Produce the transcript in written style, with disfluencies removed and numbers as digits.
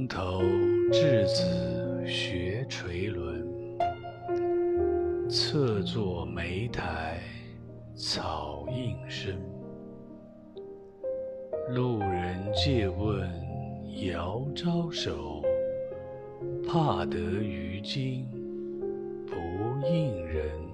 从头稚子学垂纶，侧坐莓苔草映身。路人借问遥招手，怕得于今不应人。